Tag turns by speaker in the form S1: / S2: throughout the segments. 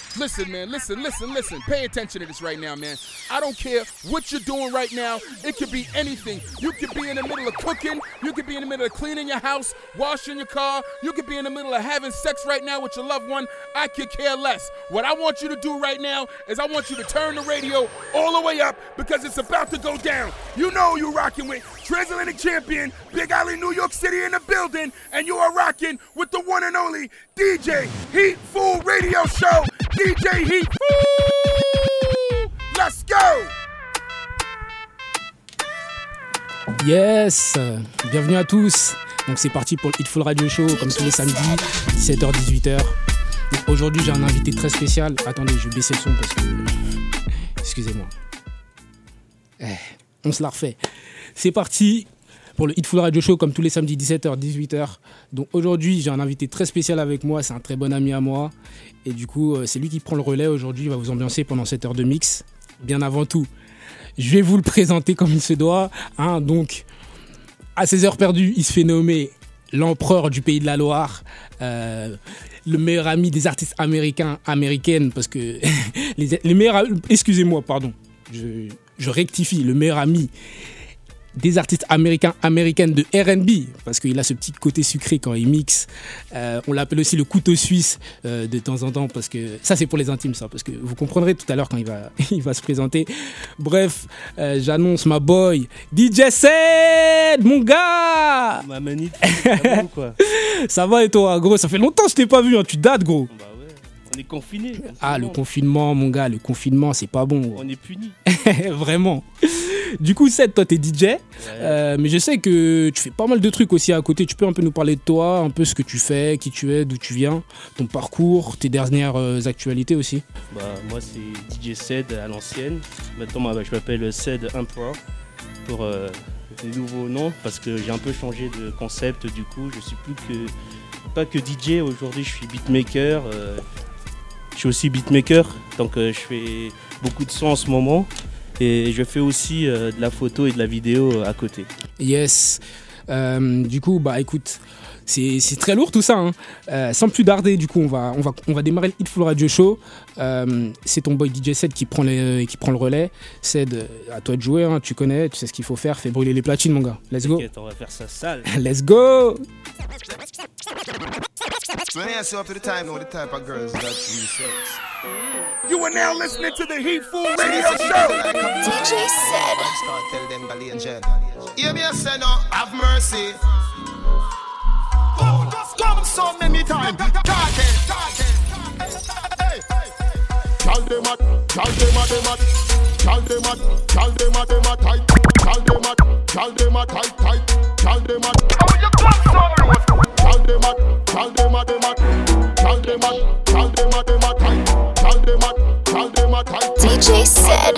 S1: Listen, man, listen. Pay attention to this right now, man. I don't care what you're doing right now. It could be anything. You could be in the middle of cooking. You could be in the middle of cleaning your house, washing your car. You could be in the middle of having sex right now with your loved one. I could care less. What I want you to do right now is I want you to turn the radio all the way up because it's about to go down. You know you're rocking with Transatlantic Champion, Big Alley, New York City in the building, and you are rocking with the one and only DJ Heat Fool Radio Show. DJ Heat Fool! Let's go!
S2: Yes, bienvenue à tous. Donc c'est parti pour le Hitful Radio Show, comme tous les samedis, 17h-18h. Donc aujourd'hui j'ai un invité très spécial. Attendez, je vais baisser le son parce que... Excusez-moi. On se la refait. C'est parti pour le Hitful Radio Show, comme tous les samedis, 17h-18h. Donc aujourd'hui j'ai un invité très spécial avec moi, c'est un très bon ami à moi. Et du coup c'est lui qui prend le relais aujourd'hui, il va vous ambiancer pendant cette heure de mix. Bien avant tout, je vais vous le présenter comme il se doit. Donc, à 16 heures perdues, il se fait nommer l'empereur du pays de la Loire, le meilleur ami des artistes américaines, parce que les meilleurs... Excusez-moi, pardon, je rectifie, le meilleur ami des artistes américaines de R&B, parce qu'il a ce petit côté sucré quand il mixe. On l'appelle aussi le couteau suisse de temps en temps, parce que ça c'est pour les intimes, ça, parce que vous comprendrez tout à l'heure quand il va se présenter. Bref, j'annonce ma boy DJ Ced, mon gars.
S3: Ma manite, ça va ou quoi?
S2: Ça va et toi, gros? Ça fait longtemps que je t'ai pas vu, hein. Tu dates, gros.
S3: Bah ouais, on est confinés.
S2: Ah, le confinement, mon gars, le confinement, c'est pas bon.
S3: On est punis.
S2: Vraiment. Du coup, Ced, toi, t'es DJ, ouais. Mais je sais que tu fais pas mal de trucs aussi à côté. Tu peux un peu nous parler de toi, un peu ce que tu fais, qui tu es, d'où tu viens, ton parcours, tes dernières actualités aussi.
S3: Bah, moi, c'est DJ Ced à l'ancienne. Maintenant, je m'appelle Ced Emperor pour les nouveaux noms parce que j'ai un peu changé de concept. Du coup, je suis pas que DJ. Aujourd'hui, je suis beatmaker. Je suis aussi beatmaker, donc je fais beaucoup de sons en ce moment. Et je fais aussi de la photo et de la vidéo à côté.
S2: Yes. Du coup, bah écoute, c'est très lourd tout ça. Hein. Sans plus tarder, du coup, on va démarrer le Hitful Radio Show. C'est ton boy DJ Ced qui prend le relais. Ced, à toi de jouer. Hein. Tu connais, tu sais ce qu'il faut faire. Fais brûler les platines, mon gars. Let's go.
S3: T'inquiète, on va faire ça sale.
S2: Let's go.
S1: You are now listening to the Heat Fool Radio Show.
S4: DJ Ced.
S5: Hear me say no, have mercy. Oh, just come so many times. Hey. Tell them at tight. Tell them at tight. Tell them at. Oh, you got so much. Tell them at tight. Tell them at tight.
S4: DJ Ced.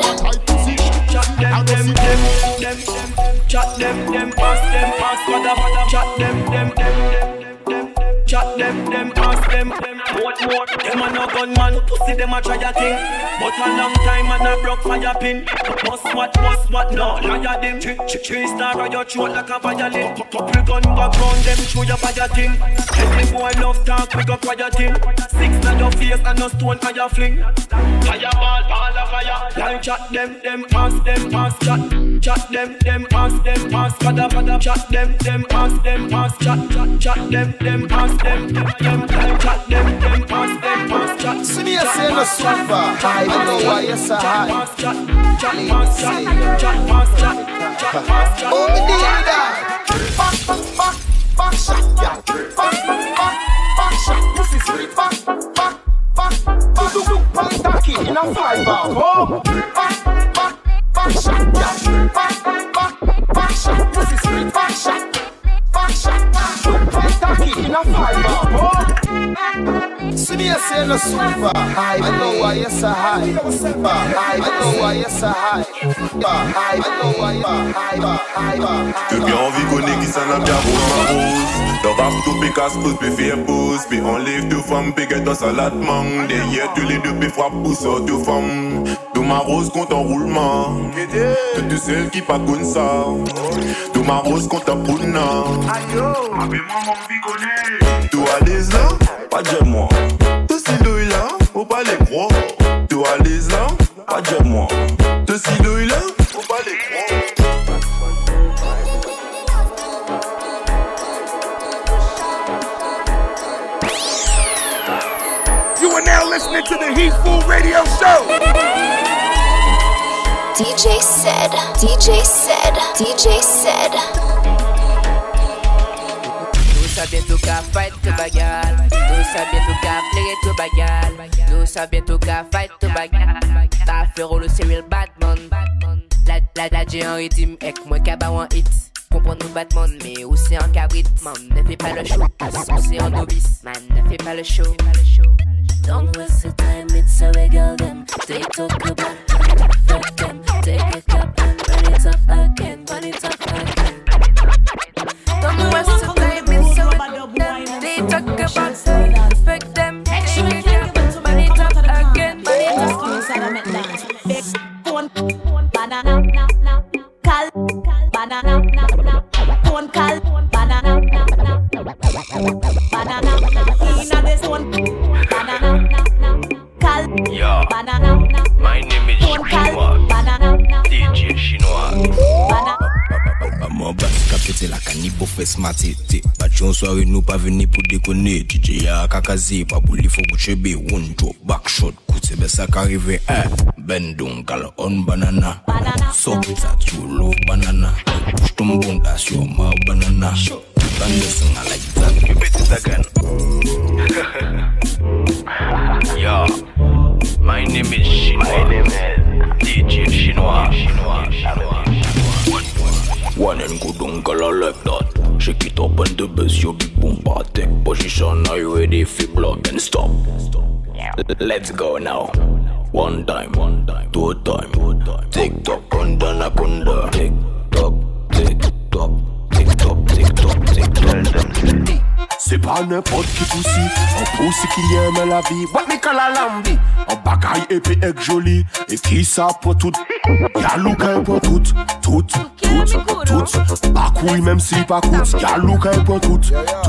S6: Chat them, pass, mother, chat them, chat them, pass them. What more? Them a no gunman, pussy them a try a thing. But a long time and a broke fire pin. Must what, no, liar them. Three star on your throat like a violin. Couple gun background them through your fire thing. Any boy love talk, we go quiet him. 6 on your face and no stone on your fling. Fireball, ball of fire. Line chat them, pass, chat them, pass, mother, chat them, pass, chat them, pass them, chat them, pass, chat.
S5: See me say no super. I know why you're so high.
S6: Chat.
S5: Oh, me did that. Back shot, yeah. Back shot. Pussy sweet. Back. Taki in a 5-bar. Oh, back shot, yeah. Back shot. Pussy sweet. Back shot. Taki in a 5-bar. Oh. See me say no super. I know why you're so high. I know why you're so high. I know why you're high.
S7: Que bien envie connaît qui s'en a bien pour ma rose. Dans rap tout picasse pousse puis fait pause. Puis on livre tout femme piquette dans salade mang. Derrière tous les deux puis frappe pour ça tout femme. Tout ma rose compte en roulement. Toutes celles qui pas comme ça. Tout ma rose compte en pouna.
S6: Ayo, appelle-moi mon vie connaît.
S7: Tout à l'aise là, pas de moi. Tout ces deux là, faut pas les croire.
S1: listening to the Heat Food Radio Show.
S4: DJ said, DJ said, DJ said.
S8: Nous sommes bientôt qu'à fight to bagarre. Nous sommes bientôt qu'à play to bagarre. Nous sommes bientôt qu'à fight to bagarre. Ta frérot le Cyril Batman. La j'ai un rythme avec moi qu'à bas un hit. Comprends nous Batman mais aussi un cabrit. Man ne fais pas le show. C'est un novice. Man ne fais pas le show. Don't waste the time, it's a regal them. They talk about fuck them. Take a cup and burn it up again. Burn it up again. Don't waste the time, it's a regal them. They talk about fuck them. Take a cup and burn it up again. Burn it up again. Banana, cal, banana, phone cal, banana, banana, inna this one, banana, cal, banana,
S9: my name is Chinois, DJ Chinois. Maman basse capté la canibo fait smarté. Bâtion soirée nous pas venir pour déconner. DJ ya kakazi pas pour les faux bouchébé. One drop back shot. Coûte c'est ça qu'arrive. Bendon gal on banana. So ça tu love banana. J'tombe sur ma banana. Bande sing I like that. Repeat it again. Yo, my name is Chinois. DJ Chinois. One and good uncle like that. Shake it up and the bass, your big boom party. Position, are you ready? Flip block and stop. Let's go now. One time, two time. Tick tock, kunda na kunda. Tick tock, tick tock, tick tock, tick tock, tick tock.
S10: C'est pas n'importe qui poussi, un poussi qui aime la vie. What me call a lambi? Un bagaille épais et joli. Et qui ça pour tout? Y'a l'ouka pour tout. Bakouille même si pas coûte. Y'a l'ouka pour tout.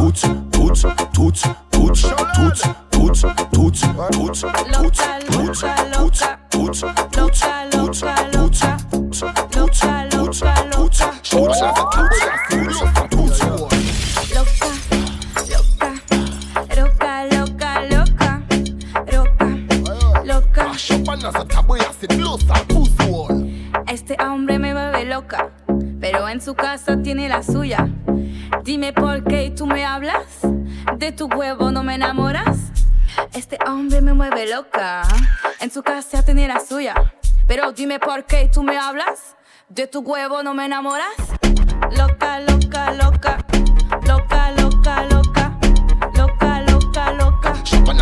S11: Este hombre me vuelve loca, pero en su casa tiene la suya. Dime por qué tú me hablas, de tu huevo no me enamoras. Este hombre me mueve loca, en su casa tiene la suya. Pero dime por qué tú me hablas, de tu huevo no me enamoras. Loca, loca, loca, loca, loca, loca, loca, loca, loca.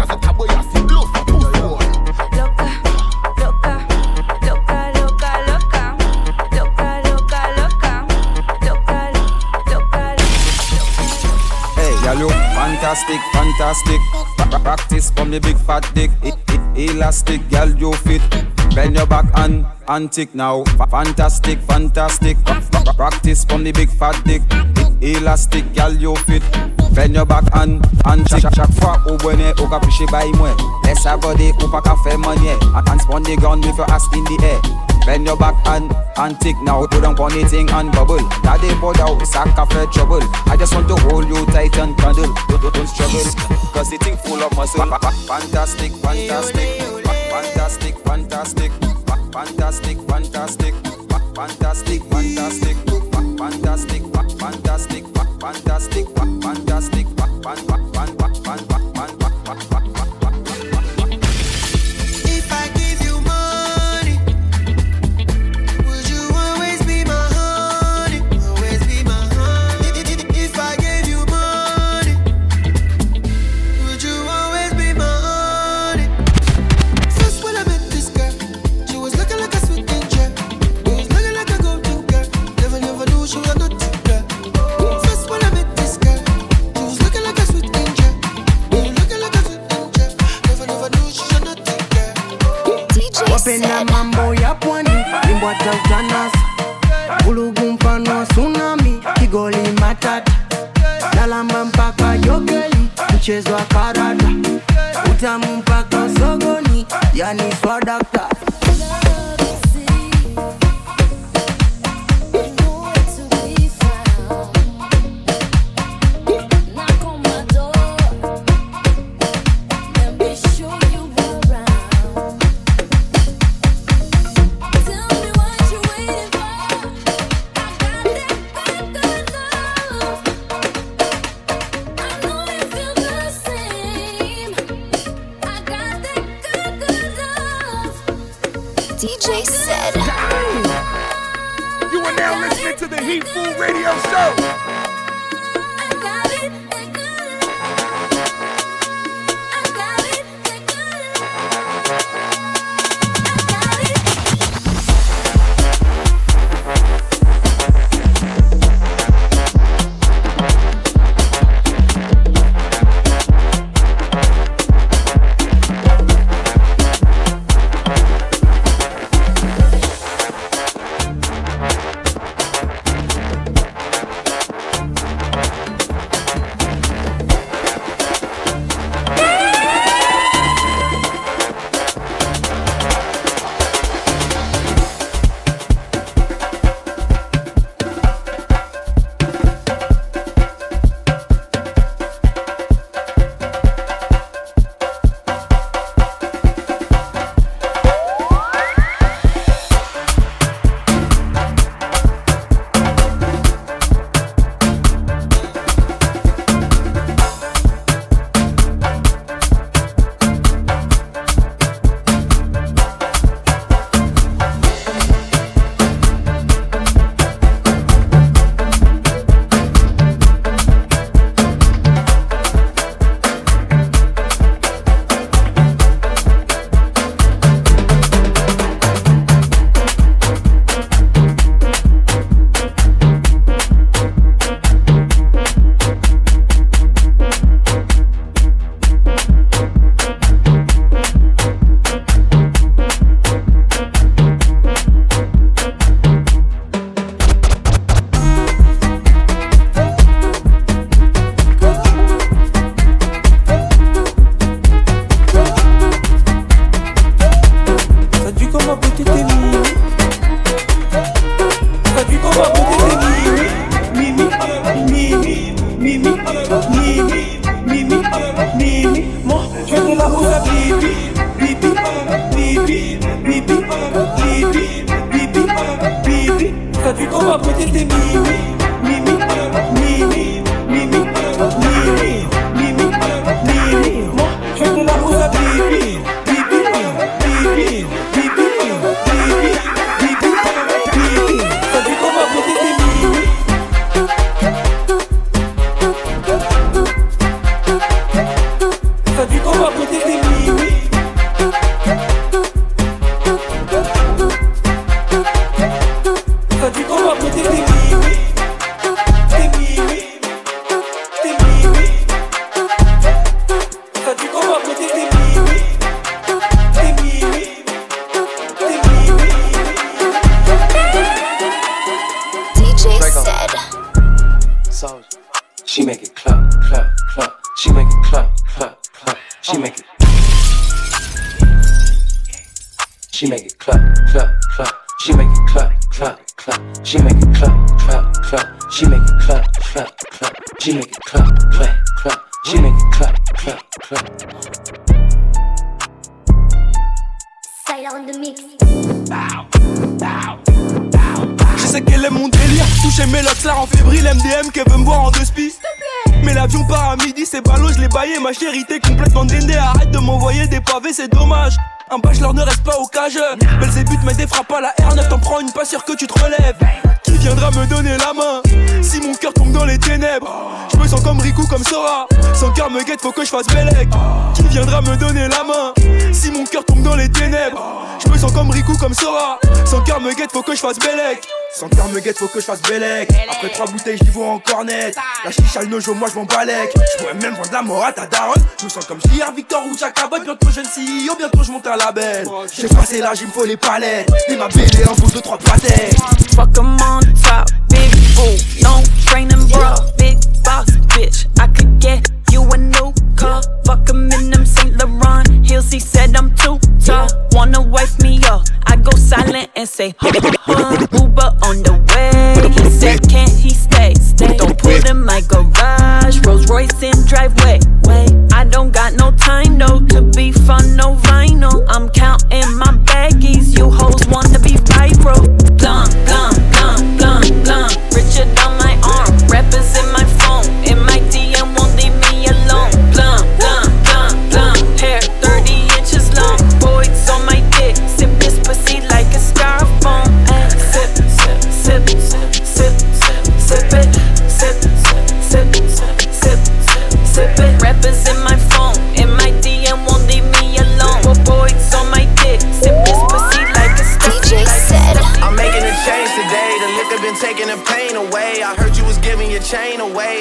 S12: Fantastic, fantastic. Practice from the big fat dick. Elastic, girl, you fit. Bend your back and tick now. Fantastic, fantastic. Practice from the big fat dick. Elastic, girl, you fit. Bend your back and tick. Chaque fois au bonnet, au capuché by moi. Laisse sa body, ou pas qu'à faire money. And spawn the ground with your ass in the air. Bend your back and tick now. Put on anything and bubble. Daddy bought out, sack cafe trouble. I just want to hold you tight and cuddle. Don't struggle, cause the thing full of muscle. Fantastic, fantastic. Fantastic, fantastic. Fantastic, fantastic. Fantastic, fantastic. Fantastic, fantastic. Fantastic, fantastic.
S13: If I give you money, would you always be my honey? Always be my honey. If I gave you money, would you always be my honey? First when I met this girl, she was looking like a sweet angel. She was looking like a golden girl. Never knew she was a naughty girl. First when I met this girl, she was looking like a sweet angel. She was looking like a sweet angel. Never knew she was a naughty girl.
S14: Wapenda mambo ya pwani, limbwa tautanas. Ulugu mfano tsunami, Kigoli matata. Lalamba mpaka jogeli, mchezo wa karata. Utamu mpaka sogoni, yani swadakta.
S11: Knock on my door. Let me show you what
S4: DJ Said.
S1: You are now listening to the Heat Food Radio Show.
S15: She make it clap, clap, clap. She make it clap, clap, clap. She make it. She make it clap, clap, clap. She make it clap, clap, clap. She make it clap, clap, clap. She make it clap, clap, clap. She make it clap, clap, clap. She make it clap, clap, clap.
S16: Sailor in the mix.
S6: Je sais qu'elle aime mon délire, toucher mes locks, là en fébrile, MDM qu'elle veut me voir en deux spies. Mais l'avion part à midi, c'est ballot, je l'ai baillé, ma chérie t'es complètement déndée. Arrête de m'envoyer des pavés, c'est dommage. Un bachelor ne reste pas au cage. Belzébuth met des frappes à la R9, t'en prends une, pas sûr que tu te relèves. Qui viendra me donner la main si mon cœur tombe dans les ténèbres? Je me sens comme Riku, comme Sora. Son cœur me guette, faut que je fasse Bellec. Qui viendra me donner la main si mon cœur tombe dans les ténèbres? Je me sens comme Riku, comme Sora. Son cœur me guette, faut que je fasse Bellec. Son cœur me guette, faut que je fasse Bellec. Après 3 bouteilles, j'y vois encore net. La chicha, le nojo, moi je m'en balèque. Je pourrais même vendre la mort à ta daronne. Je me sens comme JR, Victor ou Jack Cabot. Bientôt jeune CEO, bientôt je monte un label. J'ai passé l'âge, il me faut les palettes. Et ma BD en pose de 3 pâtés.
S17: Fuck 'em on top, big fool, no training bra, big boss bitch. I could get you a new car. Fuck 'em in them Saint Laurent heels. He said I'm too tall. Wanna wife me up? I go silent and say, Uber on the way. He said, can't he stay? Don't put in my garage. Rolls Royce in driveway. Wait, I don't got no time though to be fun, no vinyl. I'm counting my baggies. You hoes wanna be viral. Glum, glum, glum, glum, glum. Richard on my arm, rappers in my phone. In my DM won't leave me alone. Glum, glum, glum, glum. Hair 30 inches long. Boys on my dick, sip this pussy like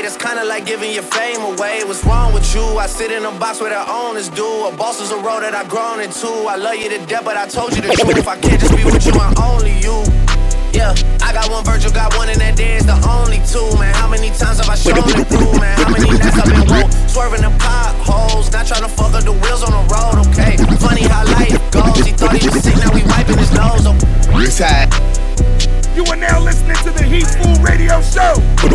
S18: it's kinda like giving your fame away. What's wrong with you? I sit in a box where the owners do. A boss is a role that I've grown into. I love you to death, but I told you the truth. I can't just be with you, I'm only you. Yeah, I got one Virgil, got one, and that day is the only two, man. How many times have I shown it through, man? How many nights I've been woke, swerving the potholes, not trying to fuck up the wheels on the road, okay? Funny how life goes, he thought he was sick, now we wiping his nose, okay?
S1: You are now listening to the Heat Food Radio Show.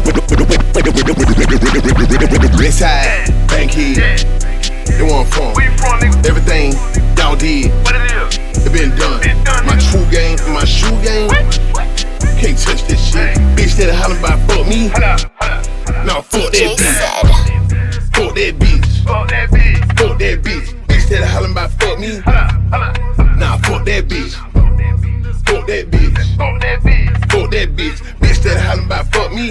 S10: This side, Bankhead, they want from. Everything y'all did, what it is? It been done. My true game, my shoe game. Can't touch this shit. Bitch that hollering about fuck me. Nah, fuck that bitch. Fuck that bitch. Fuck that bitch. Bitch that hollering about fuck me. Nah, fuck that bitch. Fuck that bitch. Fuck that bitch. Bitch that hollering about fuck me.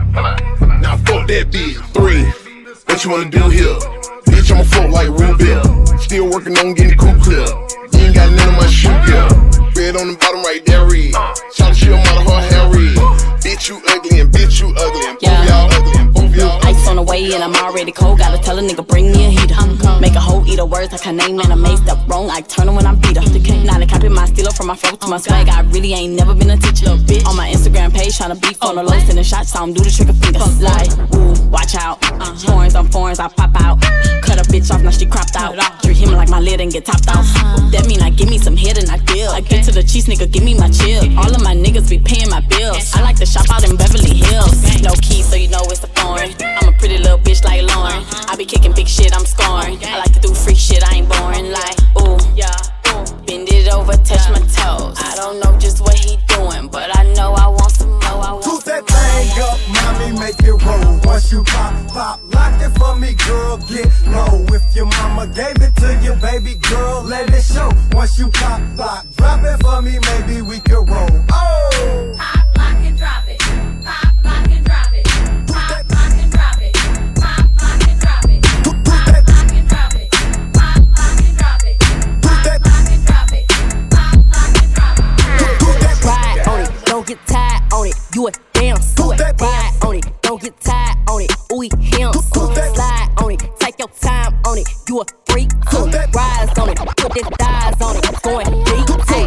S10: Nah, fuck that bitch. 3. What you wanna do here? Bitch, I'ma float like Rubel. Still working on getting cool clear. You ain't got none of my shoe gear. Red on the bottom right there, red. Shout she out of her hair red. Bitch, you ugly and bitch, you ugly. And both y'all ugly and both y'all ugly.
S19: Ice on the way and I'm already cold. Gotta tell a nigga bring me a heater. Make a whole eater words I can name and I made stuff wrong. I turn her when I'm beat her. Now they copy my stealer from my flow to my swag. I really ain't never been a teacher. On my Instagram page tryna beef on the low, sending shots, so I'm do the trigger fingers. Like, ooh, watch out. Horns on foreigns, I pop out. Cut a bitch off, now she cropped out. Treat him like my lid and get topped off. That mean I give me some head and I deal. I get to the cheese, nigga, give me my chill. All of my niggas be paying my bills. I like to shop out in Beverly Hills. No keys, so you know it's a foreign. I'm a pretty little bitch like Lauren. I be kicking big shit, I'm scoring. I like to do free shit, I ain't boring. Like, ooh, yeah. Bend it over, touch my toes. I don't know just what he doing, but I know I want some more.
S20: Toot that thing up, mommy, make it roll. Once you pop, lock it for me, girl, get low. If your mama gave it to you, baby girl, let it show. Once you pop, drop it for me, maybe we can roll. Oh!
S11: Pop, lock, and drop it. Pop, lock, and drop it. Pop, lock, and drop it. Pop, lock, and drop it. Pop, lock, and drop it. Pop, lock, and drop it. Pop, lock, and drop it. Pop, lock, and drop it.
S19: Ride on it, don't get tired on it. You a damn suit. Ride on it, don't get tired on it. Ooh, him. Slide on it, take your time on it. You a freak too. Rise on it, put them thighs on it. Going deep too.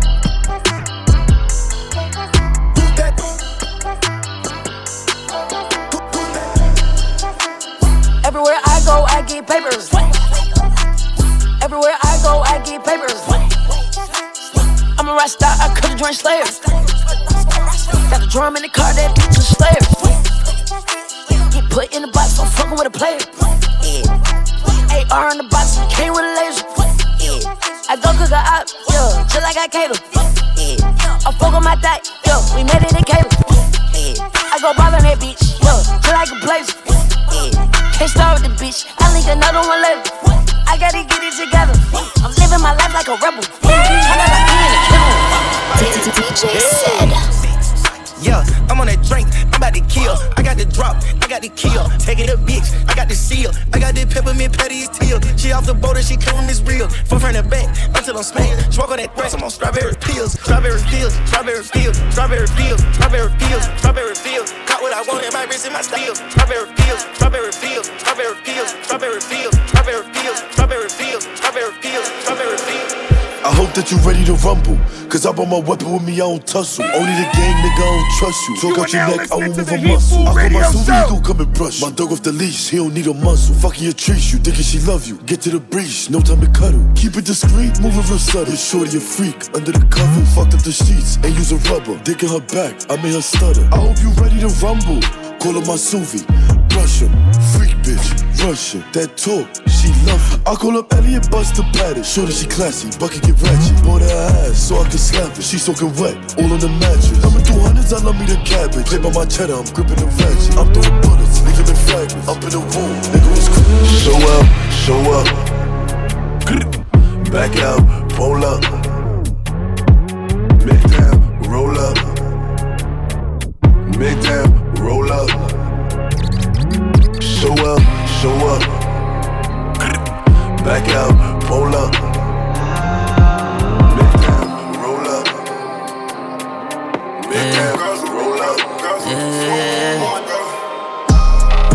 S21: Everywhere I go, I get papers. Everywhere I go, I get papers. I'm a rock star, I could've joined Slayers. Got a drum in the car, that bitch is Slayers. Get put in the box, I'm fucking with a player. Yeah. AR in the box, came with a laser. Yeah. I go cook a op, yeah, just like I cater. Yeah. I fuck on my thigh, yeah, we made it in cable. Yeah. I go ball on that bitch, yeah, just like a blazer. Yeah. Can't start with the bitch, I link another one later. I gotta get it together. I'm living my life like a rebel.
S4: DJ said.
S18: Yeah, I'm on that drink, I'm about to kill. I got the drop, I got the kill. Take it up, bitch, I got the seal. I got the peppermint patty, it's teal. She off the boat and she claiming it's real. From front to back, until I'm smacked. Smoke on that grass, I'm on strawberry pills. Strawberry fields, strawberry fields, strawberry fields, strawberry fields, strawberry fields. Got what I want in my wrist and my steel. Strawberry fields, strawberry fields, strawberry fields, strawberry fields, strawberry fields, strawberry fields, strawberry fields, strawberry fields.
S22: I hope that you ready to rumble. Cause I brought my weapon with me, I don't tussle. Only the gang, nigga, I don't trust you. Talk out your neck, I won't move a muscle. I call my Suvi, you come and brush. My dog off the leash, he don't need a muzzle. Fucking your trees, you thinking she love you. Get to the breach, no time to cuddle. Keep it discreet, move it real subtle. You're shorty a freak, under the cover. Fucked up the sheets, ain't use a rubber. Dick in her back, I made her stutter. I hope you ready to rumble. Call her my Suvi, brush him. Freak bitch, Russian. That talk, she love it. I call up Elliot, bust the pattern. Shorty, she classy, bucket get ratchet. Bought her ass, so I can slap it. She soaking wet, all on the mattress. I'm in 200s, I love me the cabbage. Play by my cheddar, I'm gripping the ratchet. I'm throwing bullets, leaving the fragments. Up in the room, nigga was cool.
S10: Show up. Back out, pull up. Mid down, roll up. Mid down, roll up. Show up. Back out, pull up. Mid down, roll up. Mid down, roll up.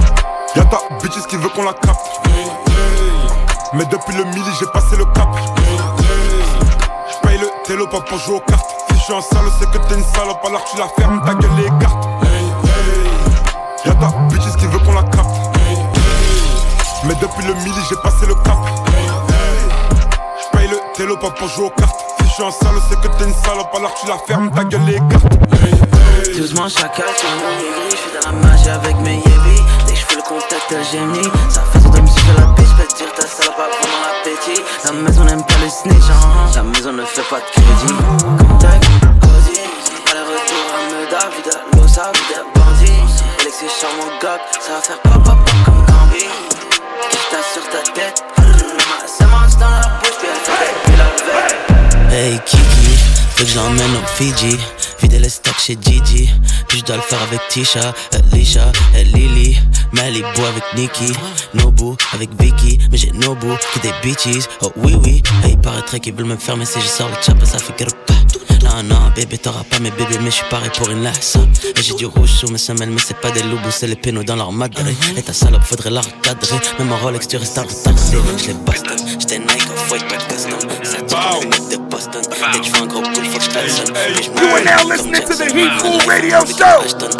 S2: bitches qui veut qu'on la capte. Mais depuis le midi j'ai passé le cap. J'paye le télo pas pour jouer aux cartes. Si je suis un salaud c'est que t'es une salope, alors tu la fermes, ta gueule les cartes. Y'a ta bitches qui veut qu'on la capte. Mais depuis le midi j'ai passé le cap. J'paye le télo pas pour jouer aux cartes. Si je suis un salaud c'est que t'es une salope, alors tu la fermes, ta gueule les cartes.
S3: Doucement chacal, tu m'as mon aigri. J'fais dans la magie avec mes yébis. Dès que j'fais le contact, gémis. Ça fait ça de me suivre la bitch. J'peux te dire ta salope a vraiment l'appétit. La maison n'aime pas le snitch, La maison ne fait pas de crédit. Contact, cosy. À la retour à Meda, vida, l'osa, vida, bandit. Alexis charmant gog, ça va faire pop pop pop comme Gambi. Quiche ta sur ta tête. Ça mange dans la bouche, puis elle fait puis la veille. Hey Kiki, faut que j'emmène au Fiji. Vider les stocks chez Gigi. Puis je dois le faire avec Tisha, Lisha, Lily. Malibu avec Nikki, Nobu avec Vicky. Mais j'ai Nobu que des bitches. Oh oui oui, hey, il paraîtrait qu'ils veulent me faire, mais si je sors le chapa ça fait que non non bébé t'auras pas mes bébés, mais je suis paré pour une laisse. Et j'ai du rouge sur mes semelles, mais c'est pas des loups, c'est les pénaux dans leur madré. Et ta salope faudrait la recadrer. Même en Rolex tu restes en retardé. Je les Boston, j'étais Nike off-white pas custom. Ça tue comme de Boston. Dès que je fais un gros coup, faut que je klaxonne.
S23: You are now listening to the Heat Fool Radio Show.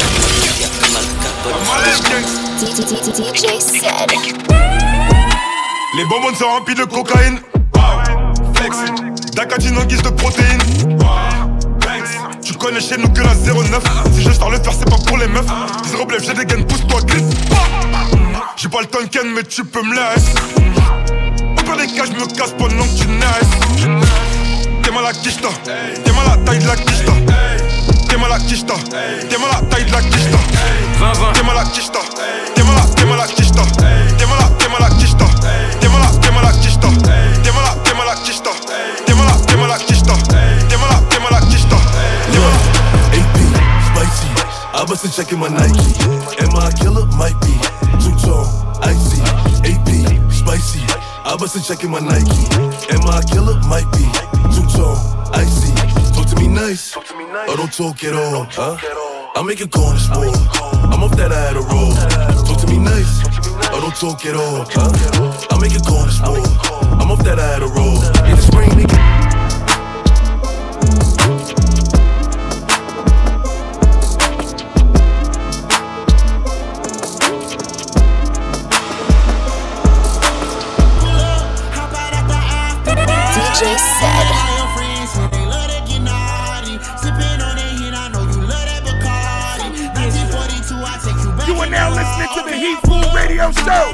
S4: DJ Ced.
S2: Les bonbons sont remplis de cocaïne. Flex, Dakatine en guise de protéines. Tu connais chez nous que la 09. Si je sors le faire c'est pas pour les meufs. 10 relève j'ai des gaines, pousse-toi glisse. J'ai pas le tonken mais tu peux me laisser. Au pire des cas je me casse pendant que tu naisses. T'es mal à quicheta, t'es mal à la taille de la quicheta. T'es mal à quicheta, t'es mal à la taille de la quicheta. T'es mal à quicheta, t'es mal à quicheta. T'es mal à quicheta, t'es mal à quicheta. T'es mal à quicheta, t'es mal à quicheta.
S22: Spicy, I bustin' checking my Nike. Am I a killer? Might be. Too tall, icy. AP, spicy. I bustin' checking my Nike. Am I a killer? Might be. Too tall, icy. Talk to me nice, or don't talk at all. Huh? I make a corner sport. I'm off that I had a roll. Talk to me nice, or don't talk at all. Huh? I make a corner sport. I'm off that I had a roll. In the spring, nigga.
S4: DJ Ced.
S23: You are now listening to the Heat Fool Radio Show.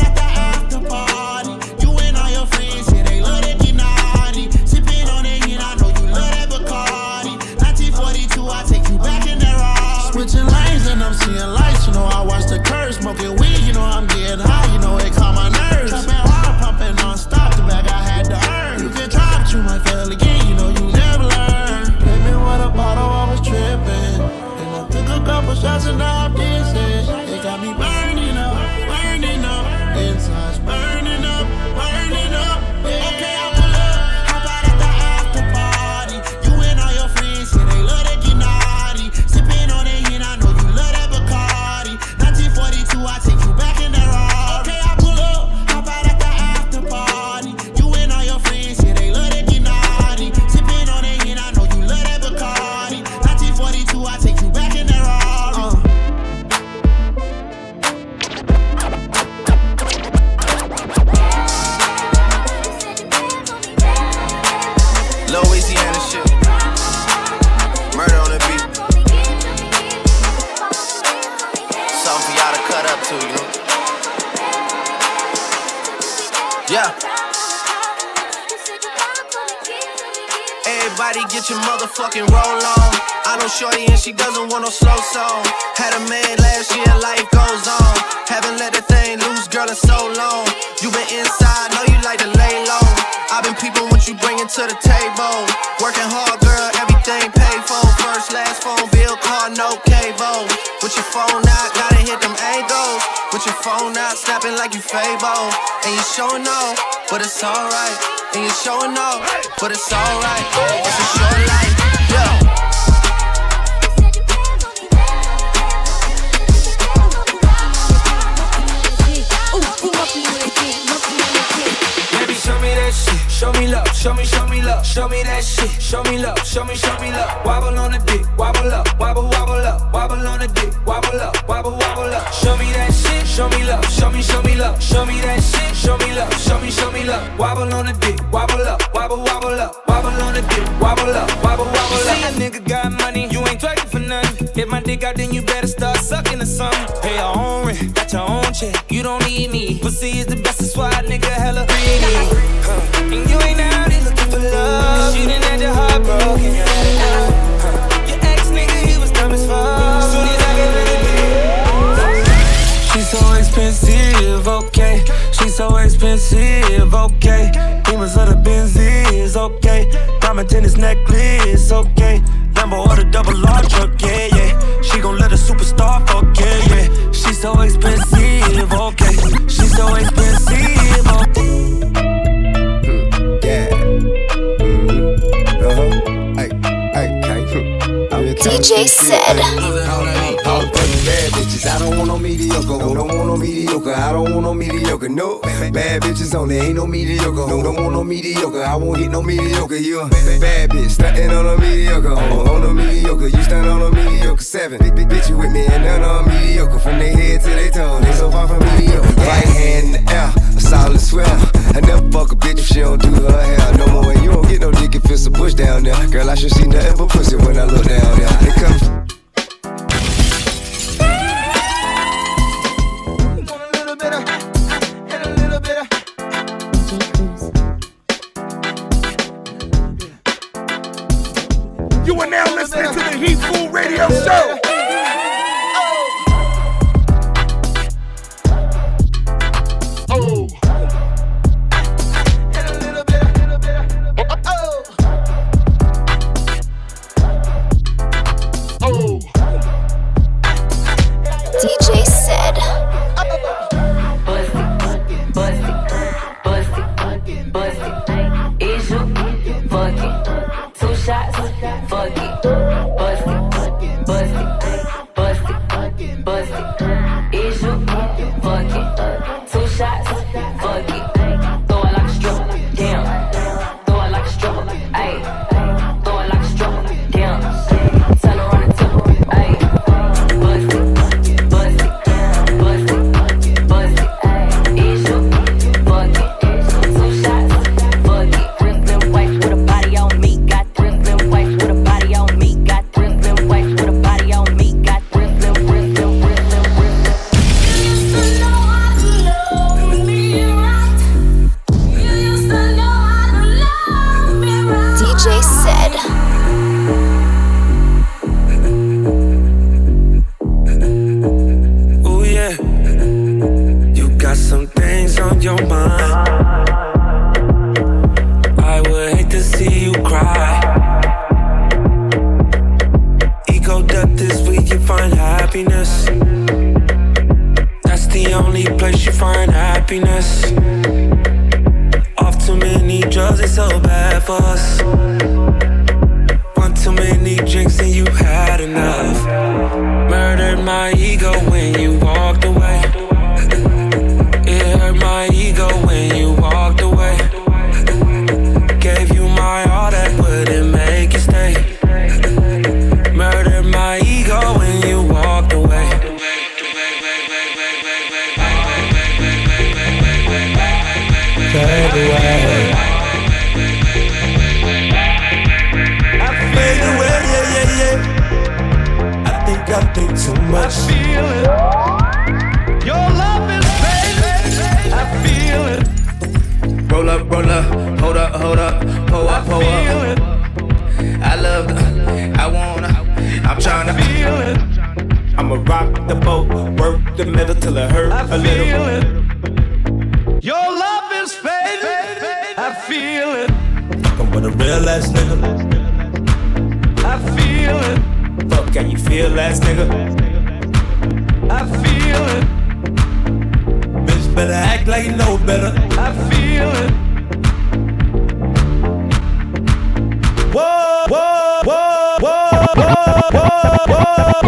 S24: Switching lanes and I'm seeing lights, you know I watch the curves, smoking weed, you know I'm getting high, you know it calm my nerves. Trapping hard, pumping non-stop, the bag I had to earn. You can try, but you might fail again, you know you never learn. Hit me with a bottle, I was tripping, and I took a couple shots and now I'm dancing. It got me burning up, inside's burning up, yeah. Okay, I pull up, hop out at the after party. You and all your friends, yeah, they love to get naughty. Sipping on it, and I know you love that Bacardi. 1942, I take you back in that Rari. Okay, I pull up, hop out at the after party. You and all your friends, yeah, they love to get naughty. Sipping on it, and I know you love that Bacardi. 1942, I take you back in that Rari.
S18: Louisiana shit. Murder on the beat. Something for y'all to cut up to, you know? Yeah. Everybody get your motherfucking roll on. I know shorty and she doesn't want no slow song. Had a man last year, life goes on. Haven't let that thing loose, girl, in so long. You been inside, know you like to lay low. I've been peeping what you bringing to the table. Working hard, girl, everything paid for. First, last phone bill, car, no cable. With your phone out, gotta hit them angles. With your phone out, snapping like you Fable. And you showing off, but it's alright. And you showing off, but it's alright. It's a short life, yeah.
S25: Ooh, ooh.
S15: show me love, show me love, show me that shit. Show me love, show me love. Wobble on the dick, wobble up, wobble up, wobble on the dick, wobble up, wobble up. Show me that shit, show me love, show me love, show me that shit, show me love, show me love. Wobble on the dick, wobble up, wobble up, wobble on the dick, wobble up, wobble up. You see a nigga got money, you ain't twerking for nothing. If my dick out, then you better start sucking or something. Pay your own rent, got your own check, you don't need me. Pussy is the best, that's why a nigga hella greedy. And you ain't out here looking for love. She done had your heart broken, you had enough. Your ex nigga, he was dumb as fuck. Soon as I get rid of it.
S5: She's so expensive, okay. She's so expensive, okay. Demons of the Benzies, okay. Diamond tennis necklace, okay. Lambo or the double R truck, yeah, yeah. She gon' let a superstar fuck, yeah, yeah. She's so expensive, okay. She's so expensive, okay.
S4: DJ said.
S7: Bad bitches, I don't want no mediocre. Don't want no mediocre. I don't want no mediocre. No, bad bitches only, ain't no mediocre. Don't want no mediocre. I won't hit no mediocre. You a bad bitch, stuntin' on a mediocre. On a mediocre, you stunt on a mediocre. 7 big bitch you with me and none on mediocre. From their head to their toe, they so far from mediocre. Right hand in the air, a solid sweater. I never fuck a bitch if she don't do her hair no more. And you don't get no dick if it's a push down there. Girl, I should see nothing but pussy when I look down there. It comes.
S23: You are now listening to the Heat Food Radio Show.
S4: DJ said.
S8: Is you fucking 2 shots? Fuck it, bust it, bust it, bust it, bust it. Is you fucking 2 shots? Fuck it, throw it like a stripper, damn. Throw it like a stripper, ayy. Throw it like a stripper, damn. Tell her on the tip, ayy. Bust it, bust it, bust it, bust it, ayy. Is you fucking 2 shots? Fuck it, Brooklyn wife with a body on me, got Brooklyn wife with a body on me, got Brooklyn wife with a body on me, got Brooklyn.
S4: DJ said.
S5: Oh yeah, you got some things on your mind. I would hate to see you cry. Ego death is where you find happiness. That's the only place you find happiness. Off too many drugs, it's so bad for us. One too many drinks and you had enough. Murdered my ego when you walked away. It hurt my ego when you walked away. Gave you my all, that wouldn't make you stay. Murdered my ego when you walked away. Fade away. I fade away, yeah, yeah, yeah. I think too much. I feel it. Your love is fading. I feel it.
S7: Roll up, hold up, pull up, pull up. I love the, I wanna, I'm tryna
S5: feel it. I'ma rock the boat, work the middle till it hurt a little. It. Your love is fading. I feel it. I'm with a real ass nigga. I feel it. Fuck, can you feel ass nigga? I feel it. Bitch better act like you know better. I feel it. Whoa, whoa, whoa, whoa, whoa, whoa, whoa,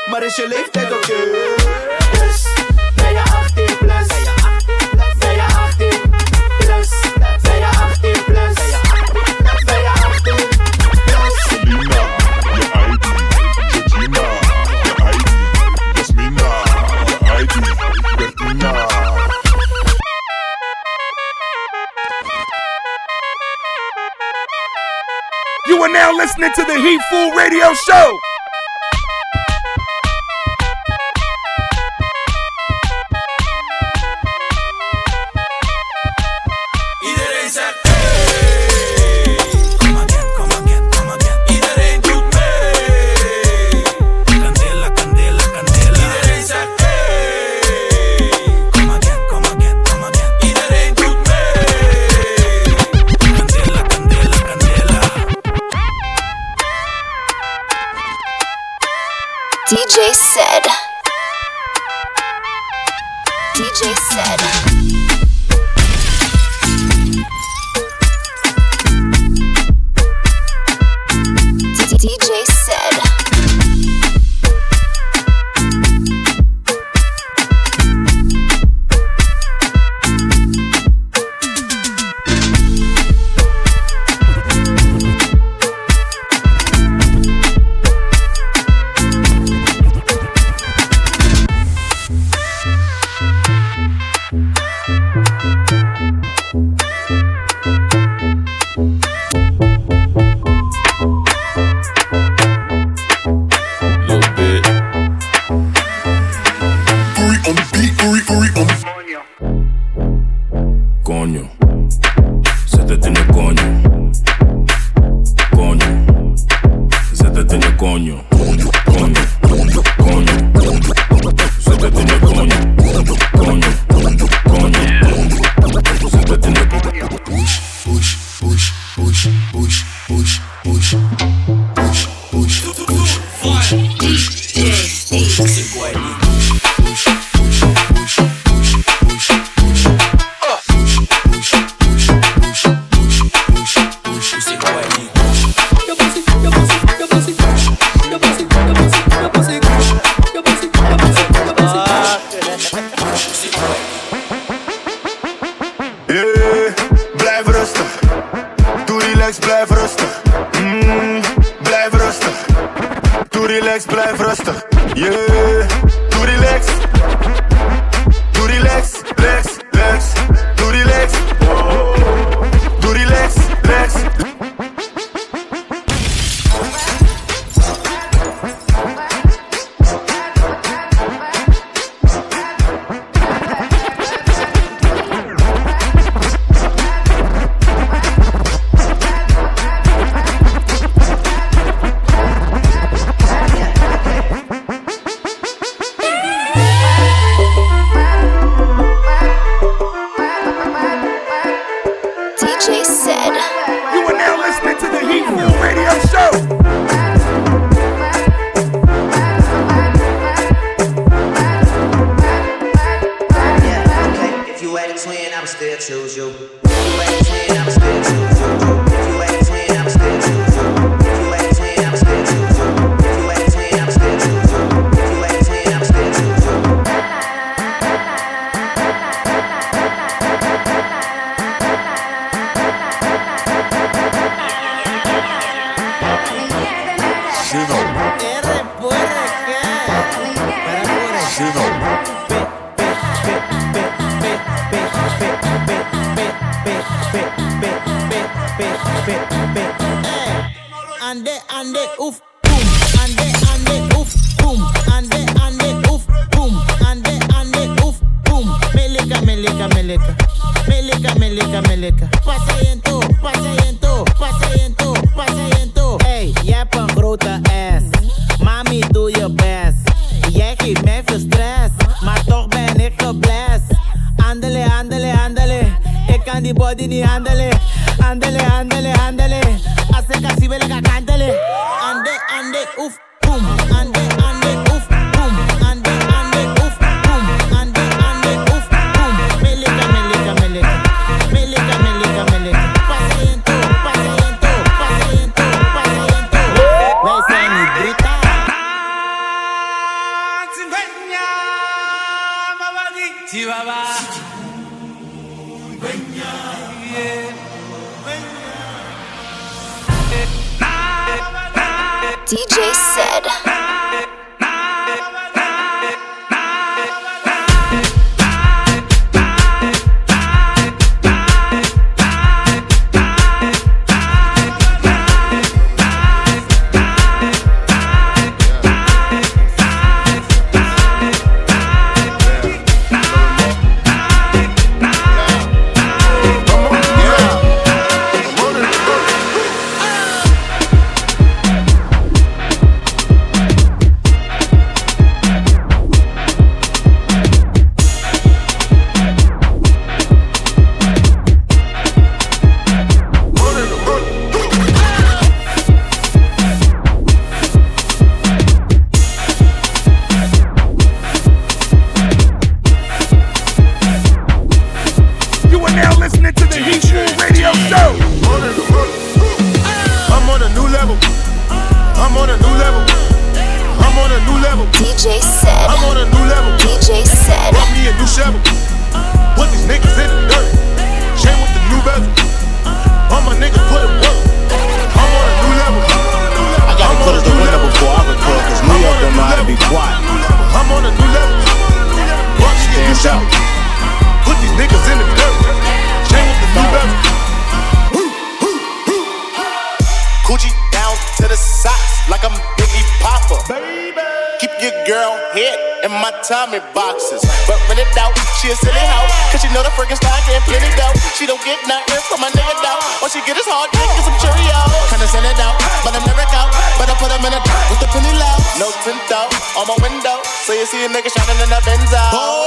S6: maar is je leeftijd oké? Dus, ben je 18 plus? Ben je 18 plus? Ben je 18 plus? Ben je 18 plus?
S2: Selena, je ID. Georgina, je ID. Jasmina, je ID. Bertina.
S23: You are now listening to the Heat Fool Radio Show.
S6: Iedereen zegt hey, kom again, kom again, kom again. Iedereen doet mee. Candela, candela, candela. Iedereen zegt hey, kom again, kom again, kom again. Iedereen doet mee. Candela, candela, candela.
S4: DJ said. DJ said. DJ said.
S23: Coño, se te tiene coño. Coño, se te tiene coño. Coño, coño, coño. Se te tiene coño. Coño, coño. Se te tiene coño. Push, push, push, push, push, push, push, push, push, push, push, push, push, push.
S2: Blijf rustig, yeah. Doe relax. Doe relax, relax, relax. Doe relax. Doe relax, relax.
S24: Ande, uf, boom. Ande, uf, boom. Ande, uf, boom. Ande, uf, boom. Meleka, meleka, meleka. Meleka, meleka, meleka. Paseento, paseento, paseento, paseento. Hey, jij hebt een grote ass. Mami, doe je best. Jij geeft mij veel stress, maar toch ben ik geblest. Andele, andele, andele. Ik kan die body niet handelen. Andele, andele, andele. Als ik als wil ik kantelen. Ande, ande, oef, boom. Ande, ande, oef, boom. Ande, ande, oef, boom. Ande, ande, oef, boom. Meleka, meleka, meleka. Meleka, meleka, meleka. Paseento, paseento, paseento, paseento. Wij zijn niet bruta.
S4: DJ said. DJ said.
S22: I'm on a new level.
S4: DJ said.
S22: Bought me a new shovel. Put these niggas in the dirt. Chain with the new bezel. All my niggas put it work. I'm on a new level.
S9: I gotta close the window before I record, cause New York don't know how to be quiet.
S22: I'm on a new level. Bought me a new shovel. Put these niggas in the dirt. Chain with the new bezel.
S10: Coochie down to the socks like I'm Biggie Popper. Baby. Keep your girl head in my Tommy boxes. But when it out, she a silly hoe. Cause she know the freaking style getting plenty dough. She don't get nothing from my nigga though. All she get is hard dick and some Cheerios. Kinda send it out, but I'm never out. But I put them in a top with the penny low. No tint out on my window. So you see a nigga shining in the Benzo.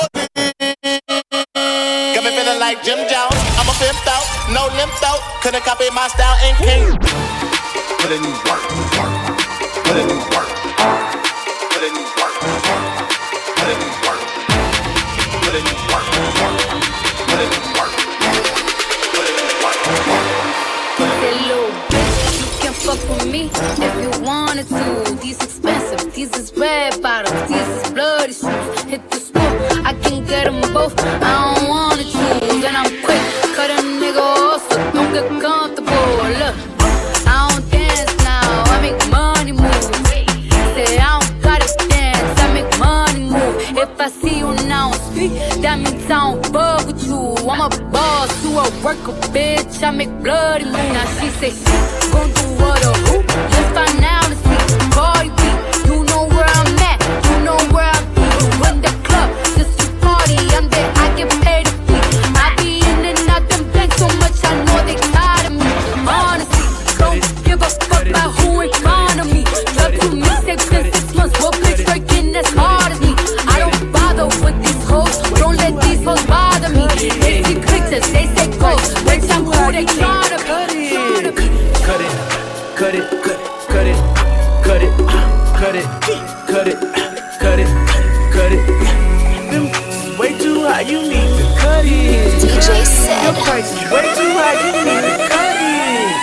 S10: Got me feeling like Jim Jones. I'm a pimped out, no limp out. Couldn't copy my style and king. Put in work, work. Put in work. Put in work. Put in work. Put in work. Put in work. Put in work.
S11: Hey, little bitch, you can fuck with me if you wanted to. These expensive, these is red bottoms, these is bloody shoes. Hit the school, I can get them both. I don't wanna choose, and I'm quick. Cut a nigga off, so don't get comfortable. Look, I don't dance now, I make money move. Say I don't gotta dance, I make money move. If I see you now speak, that means I don't fuck with you. I'm a boss, you a worker, bitch. I make bloody move. Now she say she gon' do what or who? Let's find out and see. Cardi B, you know where I'm at, you know where I be. You in the club, just to party. I'm there, I get paid to be. I be in and out them banks so much, I know they tired of me. Honestly, don't give a fuck about who in front of me. Drop 2 mixtapes in 6 months, what bitch working as hard as me? I don't bother with these hoes, don't let these hoes bother me. They see pictures, they say ghosts, bitch I'm who they try to be.
S15: Cut it, cut it, cut it, cut it, cut it, cut it, cut it, cut it. Them is way too high, you need to cut it.
S4: DJ said.
S15: Your price is way too high, you need to cut it.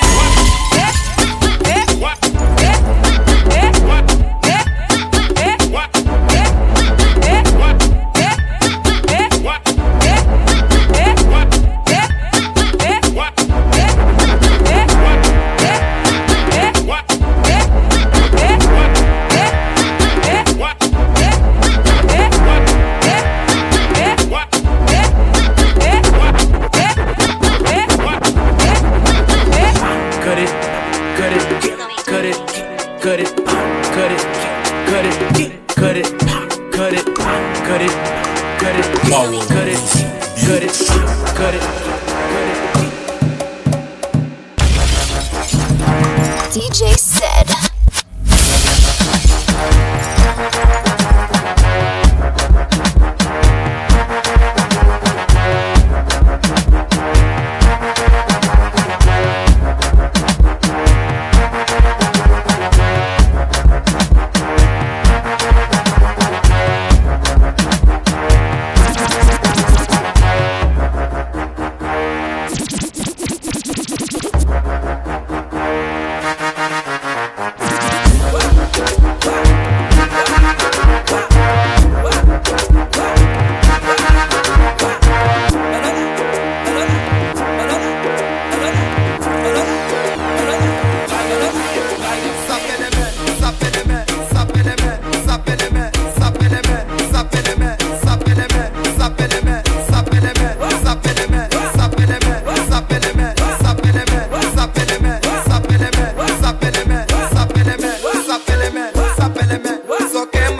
S4: DJ said.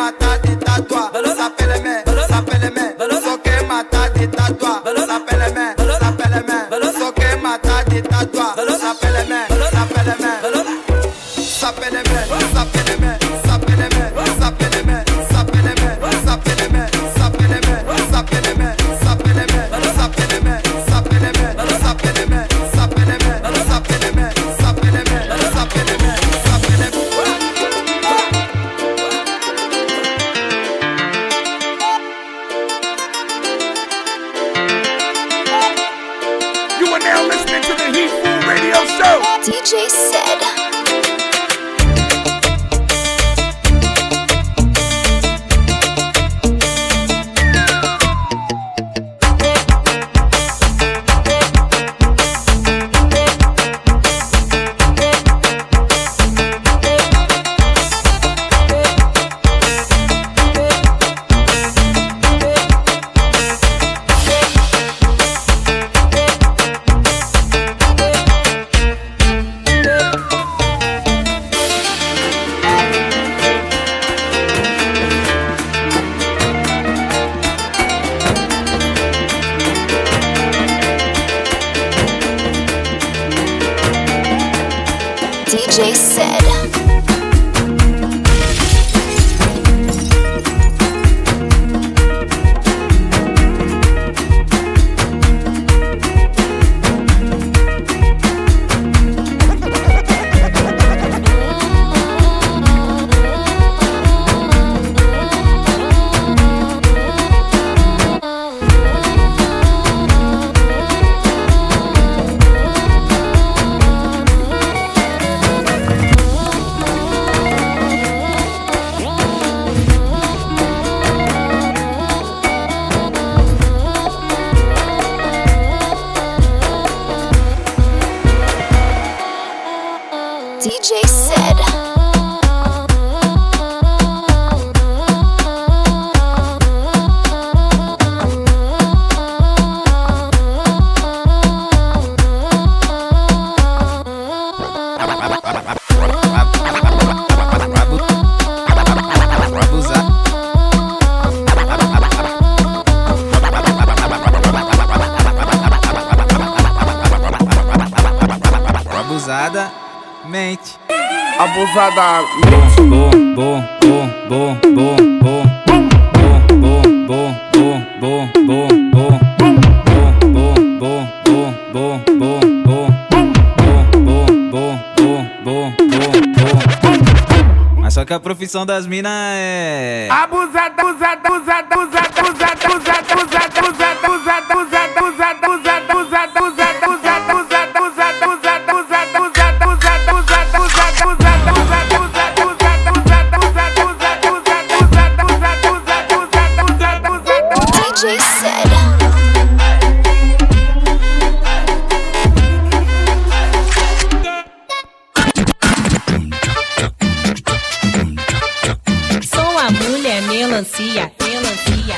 S12: mata de tatua, ça fait les mains, ça fait les mains. Soke mata de tatua, ça fait les mains, ça fait les mains. Soke mata de tatua, ça fait les mains, ça fait les mains. Ça fait les mains, ça fait les mains, ça fait les mains, ça fait les mains, ça fait les mains, ça fait les mains, ça fait les mains, ça fait les mains, ça fait les mains, ça fait les mains, ça fait les mains, ça fait les mains, ça fait les mains, ça fait les mains, ça fait les mains, ça fait les mains, ça fait les mains.
S23: You are now listening to the Heat Food Radio Show.
S4: DJ Said. DJ Said. DJ Said.
S13: Abusada mente.
S23: Abusada
S13: Mas só que a profissão das minas é
S23: abusada, abusada, abusada, abusada, abusada, abusada, abusada, abusada, abusada, abusada, abusada, abusada, abusada,
S4: DJ Said.
S14: Sou a mulher melancia, melancia,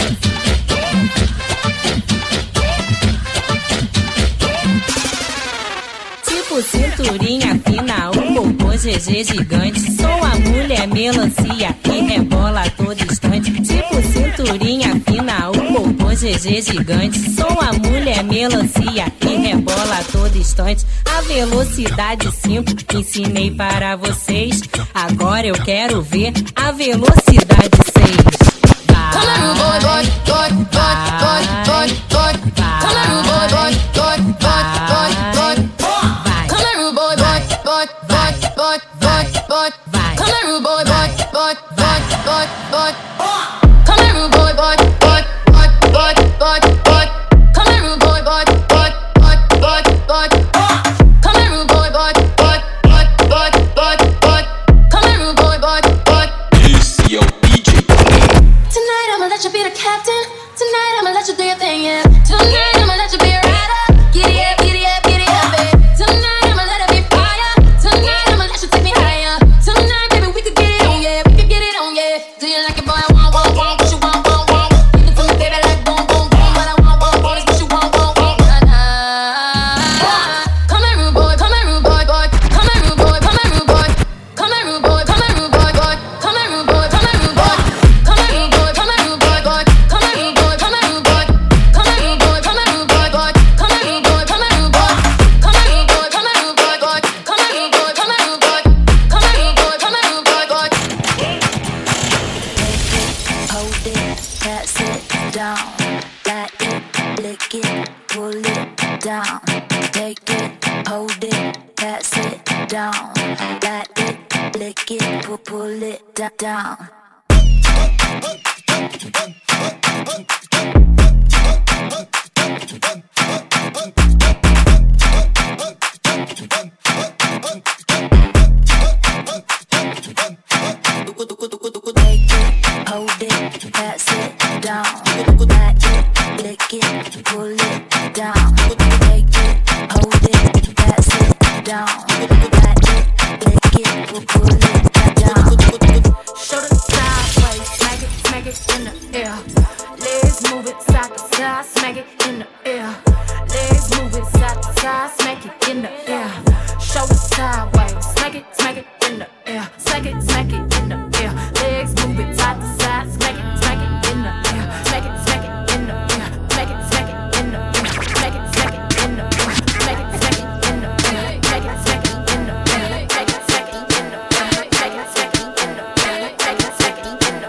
S14: tipo cinturinha fina, o popô GG gigante. Sou a mulher melancia que rebola a todo instante. Tipo cinturinha fina, o popô GG gigante. Sou a mulher melancia que rebola a todo instante. A velocidade 5 ensinei para vocês. Agora eu quero ver a velocidade 6. Come on, boy, boy, boy, boy, boy, boy, boy. Come on, boy, boy, boy, boy, boy, boy. Come on, boy, boy, boy, boy, boy, boy, boy. Come on, boy, boy, boy, boy, boy, boy. Come on, boy, boy, boy, boy, boy, boy, boy. Come on, boy, boy, boy, boy, boy, boy. Come on, boy, boy, boy, boy, boy, boy, boy. Come on, boy, boy, boy.
S16: Esse é o DJ.
S14: Tonight I'ma let you be the captain. Tonight I'ma let you do your thing, yeah. Tonight I'ma let you be a rider. Giddy up, giddy up, giddy up, babe. Tonight I'ma let it be fire. Tonight I'ma let you take me higher. Tonight, baby, we could get it on, yeah. We could get it on, yeah. Do you like it, boy? I want, what you want, want. Give it to me, baby, like boom, boom, boom. What I want is what you want, Come here, rude boy, come here, rude boy, boy. Come here, rude boy, come here, rude boy. Come here, rude boy, come here, rude boy, boy. Come here, rude boy, come here, rude boy.
S11: pass it down. Back it, lick it, pull it down. Take it, hold it, pass it down. Back it, lick it, pull it down. Hold it, pass it down. Back it, lick it, pull it down. Take it, hold it, pass it down. Back it, lick it, pull it down. Show the sideways, smack it in the air. Legs move it side to side, smack it in the air. Legs move it side to side, smack it in the air. Show the sideways, smack it in the air. Smack it in the air. Legs move it side to side, smack it in the air. Smack it in the air. Smack it in the air. Smack it in the air. Smack it in the air. Smack it in the air. Smack it in the air. Smack it in the air. Smack it in the air.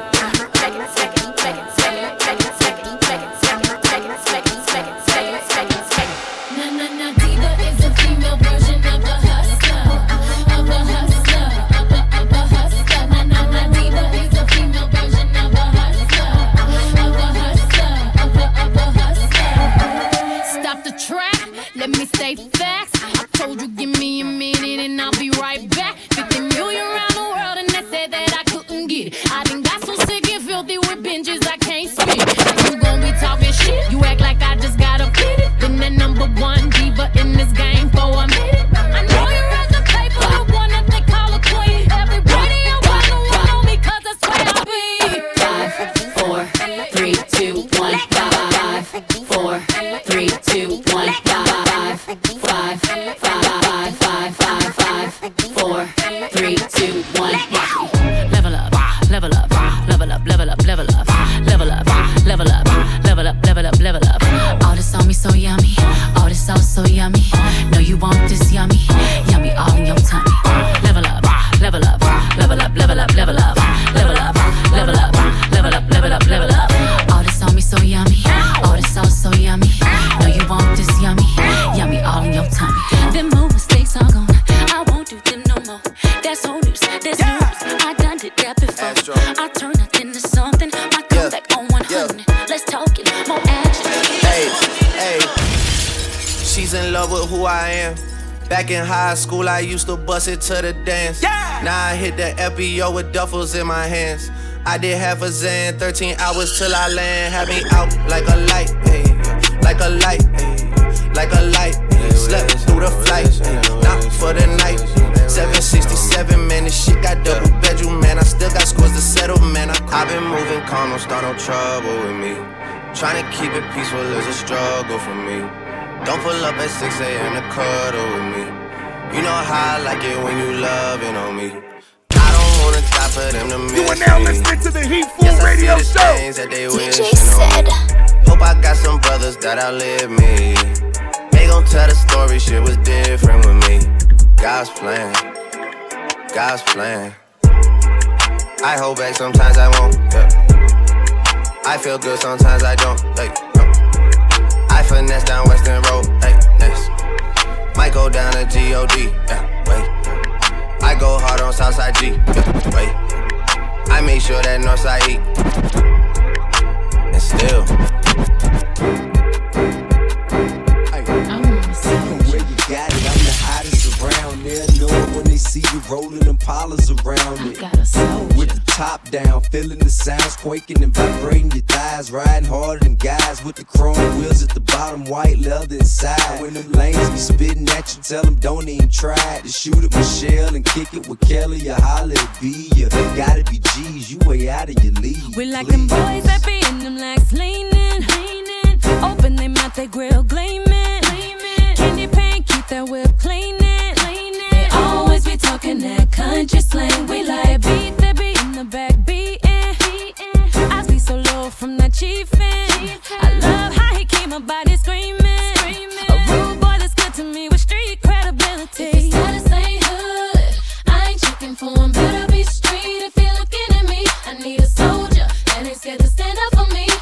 S8: Na diva is a female version of a hustler, of a hustler, of a hustler. Na diva is a female version of a hustler, of a hustler, of a hustler. Stop the track, let me say facts. I told you give me a minute and I'll be right back. 50 million around the world and they said that I couldn't get it. I done got so sick and filthy with binges I can't spit. You gon' be talking shit, you act like I just got a pity. Been the number one diva in this game for a minute. I know you read the paper, the one that they call a queen. Everybody I want to one on me cause that's where I be.
S1: 5, 4, 3, 2, 1, 5, 4, 3, 2, 1, 5, 5, 5, 4, 3, 2, 1.
S3: Level up, level up, level up, level up, level up, level up, level up, level up, level up, level up. All this on me so yummy, all this sauce so yummy. Know you want this yummy, yummy all in your tummy. Level up, level up, level up, level up, level up, level up, level up, level up, level up, level up. All this on me so yummy, all this sauce so yummy. Know you want this yummy, yummy all in your tummy. Them more mistakes are gone, I won't do them no more. That's old news, that's news. I done did that before. I turn nothing to something. My comeback on 100. Let's talk it, more action.
S17: Hey, hey. She's in love with who I am. Back in high school, I used to bust it to the dance. Now I hit the FBO with duffels in my hands. I did half a Zan, 13 hours till I land. Had me out like a light, hey, like a light, hey, like a light. Slept through the flight, not for the night. 767, man, this shit got double bedroom, man. I still got scores to settle, man. I've been moving calm, don't start no trouble with me. Trying to keep it peaceful is a struggle for me. Don't pull up at 6 a.m. to cuddle with me. You know how I like it when you loving on me. I don't wanna die for them to miss me.
S23: You are now listening to the Heat Food Radio Show.
S17: DJ Said. Hope I got some brothers that outlive me. They gon' tell the story, shit was different with me. God's plan, God's plan. I hold back, sometimes I won't, yeah. I feel good, sometimes I don't, like, no. I finesse down Western Road, like, next. Might go down to G.O.D., yeah, wait. I go hard on Southside G, yeah, wait. I make sure that Northside E. And still
S7: got it, I'm the hottest around. They'll know it when they see you rolling them Impalas around it. With the top down, feeling the sounds quaking and vibrating your thighs. Riding harder than guys with the chrome wheels at the bottom, white leather inside. When them lanes be spitting at you, tell them don't even try to shoot at Michelle and kick it with Kelly or holler at B. You gotta be G's, you way out of your league.
S14: We like them boys that be in them legs leaning. Open they mouth, they grill gleaming. Candy paint, keep that whip cleaning. They always be talking that country slang. We like beat that beat in the back beating. I see so low from that chiefin'. I love how he keep my body screaming. A rude boy that's good to me with street credibility.
S8: If his status ain't hood, I ain't checking for him. Better be street if you're looking at me. I need a soldier that ain't scared to stand up for me.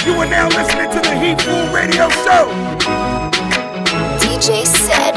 S23: You are now listening to the Heat Food Radio Show.
S4: DJ Said.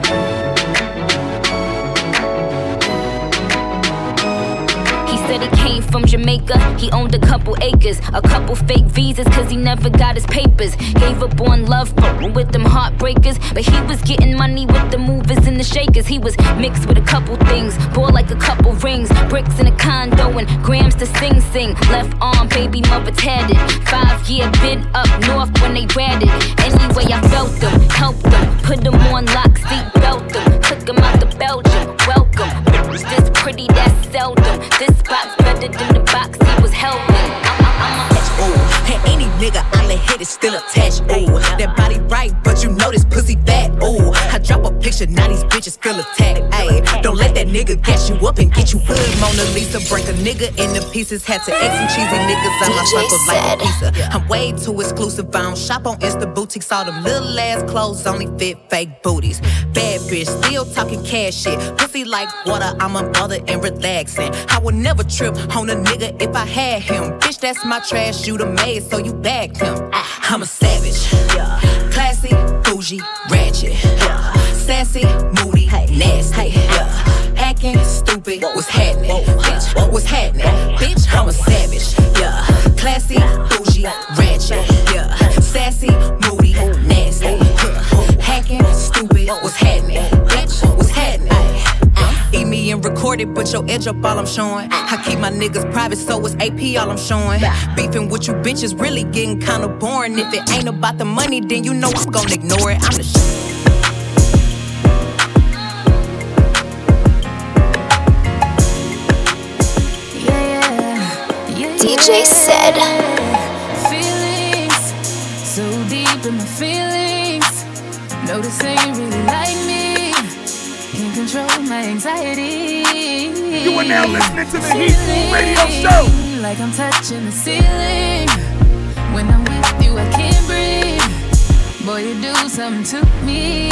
S11: Said he came from Jamaica, he owned a couple acres, a couple fake visas cause he never got his papers. Gave up on love with them heartbreakers, but he was getting money with the movers and the shakers. He was mixed with a couple things, bought like a couple rings, bricks in a condo and grams to sing. Left arm, baby mother tatted, 5-year bid up north when they ratted. Anyway I felt them, helped them, put them on lock, seat belt them, took them out to Belgium, welcome. This pretty, that's seldom, this box better than the box he was helping.
S18: Ooh, and any nigga I let hit is still attached. Ooh, that body right, but you know this pussy fat. Ooh, I drop a picture, now these bitches feel attacked. Ayy, don't let that nigga gas you up and get you hood. Mona Lisa break a nigga into pieces. Had to X some cheesy niggas out my circle like a pizza. I'm way too exclusive. I don't shop on Insta boutiques. All them little ass clothes only fit fake booties. Bad bitch, still talking cash shit. Pussy like water, I'm a mother and relaxing. I would never trip on a nigga if I had him. Bitch, that's my trash, you the maid, so you bagged him. I'm a savage, yeah. Classy, bougie, ratchet, yeah. Sassy, moody, nasty, yeah. Acting stupid, what's happening? Bitch, what's happening? Bitch, I'm a savage, yeah. Classy, bougie, ratchet, yeah. Sassy, moody, nasty, hacking, stupid, what's happening? Bitch, what's happening? Eat me and record it, but your edge up all I'm showing. I keep my niggas private, so it's AP all I'm showing. Beefing with you bitches really getting kinda boring. If it ain't about the money, then you know I'm gonna ignore it. I'm the shit.
S4: DJ Said.
S11: Feelings so deep in my feelings. No, this ain't really like me. Can't control my anxiety.
S23: You are now listening to the Heat Food Radio Show.
S11: Like I'm touching the ceiling. When I'm with you, I can't breathe. Boy, you do something to me.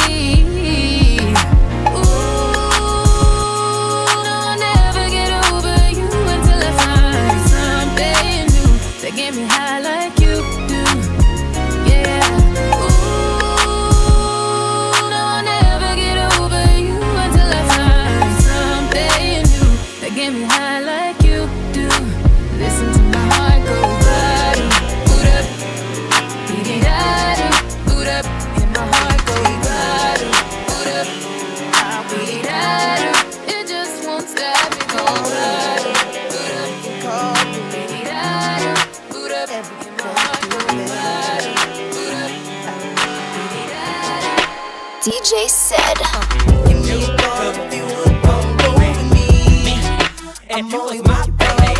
S11: Ooh, no, I'll never get over you until I find something new that get me high like you do. Yeah. Ooh, no, I'll never get over you until I find something new that get me high like you do. Listen to my heart go bada, boot up, beat-it-da-da, boot up, and my heart go bada, boot up, beat-it-da-da. It just won't stop me go bada, boot up, beat-it-da-da, boot up, and my heart go bada, boot up, beat-it-da-da.
S4: DJ Said.
S19: And you was my baby.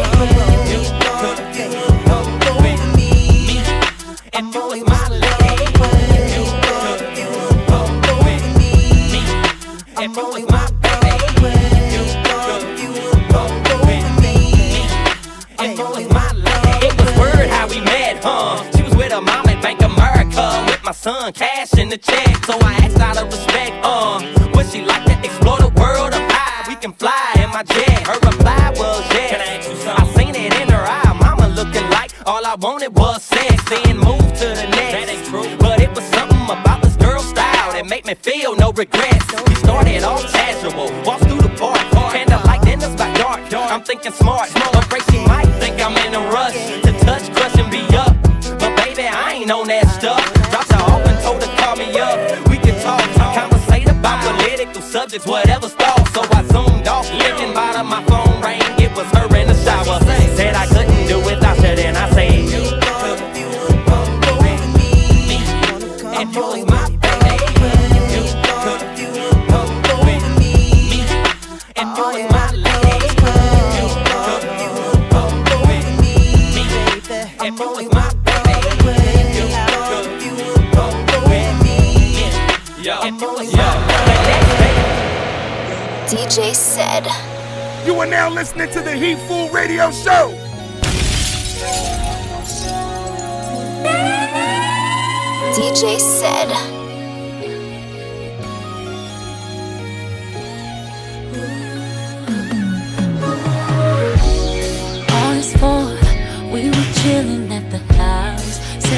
S19: And you was my lady. And you was my baby. And you was my lady. It was word how we met, huh? She was with her mom at Bank America, with my son cash in the check. So I asked out of respect, would she like to explore the world of high? We can fly in my jet. Her reply was yes. I seen it in her eye, mama looking like all I wanted was sex. Then move to the next. That ain't true. But it was something about this girl's style that made me feel no regrets. We started off casual, walked through the park, candlelight dinners by dark. I'm thinking smart, afraid she might think I'm in a rush to touch, crush, and be up. But baby, I ain't on that stuff. Dropped her off and told her call me up. We can talk, conversate about political subjects, whatever's thought. So I zoomed off, thinking about her, my phone rang. It was her in the shower. Said I couldn't do without her, then I said, and you was my baby. And you was my lady. And you was my
S4: DJ Said.
S23: You are now listening to the Heat Food Radio Show.
S4: DJ Said.
S11: On his phone, we were chilling at the house.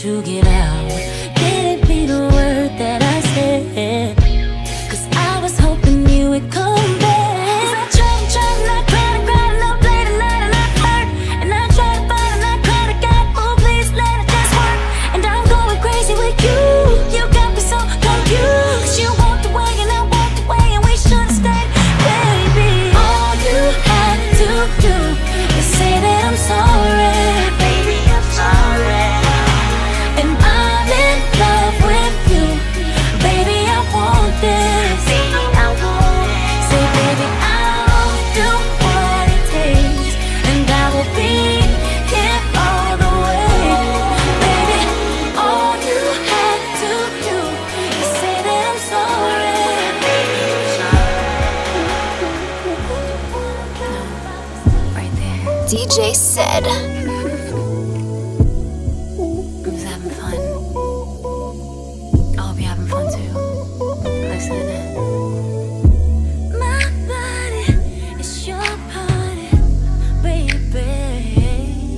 S14: to get out. Didn't mean a word that I said, 'cause I was hoping you would come back. 'Cause I tried and I cried and I played and I hurt. And I tried to fight and I cried again. Oh, please let it just work. And I'm going crazy with you. You got me so confused. 'Cause you walked away and I walked away and we should've stayed, baby. All you had to do is say that I'm sorry. Baby, I'm sorry. And I'm in love with you. Baby, I want this. Baby, I want it. Say, baby, I'll do what it takes. And I will be here all the way. Baby, all you had to do is say that I'm sorry. Baby, I'm sorry. Right there.
S4: DJ said.
S14: I'm just having fun. I hope you're having fun too. Listen. My body is your party, baby.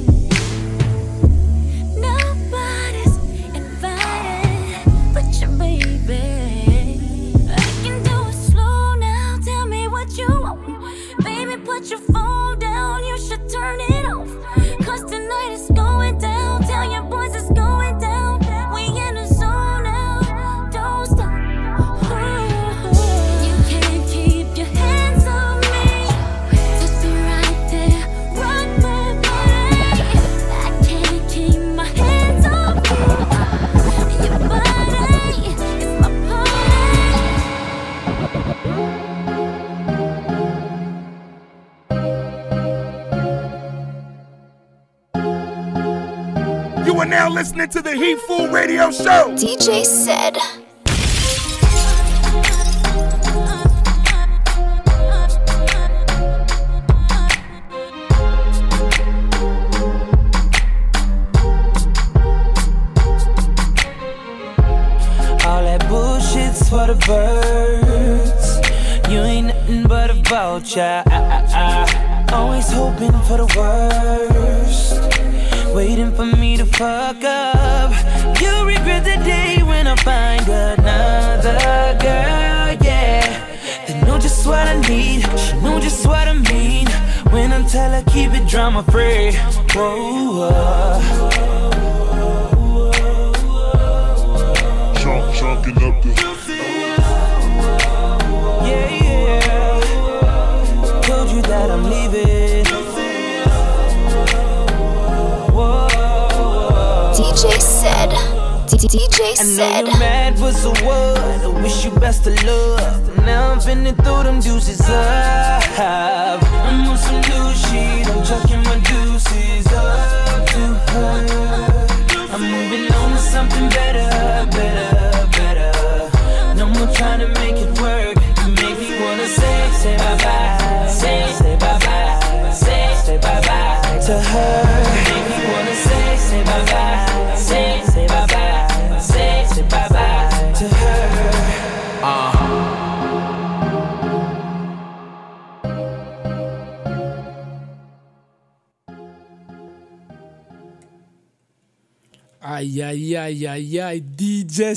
S14: Nobody's invited but your baby. I can do it slow now. Tell me what you want. Baby, put your phone down. You should turn it off. 'Cause tonight is going down. Tell your boys it's going down. We in the zone now. Don't stop. You can't keep your hands on me. Just be right there. Rock my body. I can't keep my hands on you. Your body is my party.
S23: You are now listening to the Heat Fool Radio Show.
S4: DJ said.
S3: All that bullshit's for the birds. You ain't nothing but a vulture. Always hoping for the worst, waiting for me to fuck up. You'll regret the day when I find another girl, yeah. They know just what I need, she know just what I mean. When I tell her keep it drama free. Whoa,
S22: Chunking up the
S3: yeah. Told you that I'm leaving.
S4: DJ said. DJ
S3: I know
S4: said.
S3: you're mad, but so what? I wish you best of luck. Now I'm finna throw them deuces up. I'm on some new shit, I'm chucking my deuces up to her. I'm moving on to something better. No more trying to make it work. You make me wanna say bye-bye. Say bye-bye. Say bye-bye to her. Make me wanna say bye-bye. Say bye-bye. Say bye-bye to her.
S5: Aïe, aïe, aïe, aïe, aïe, DJ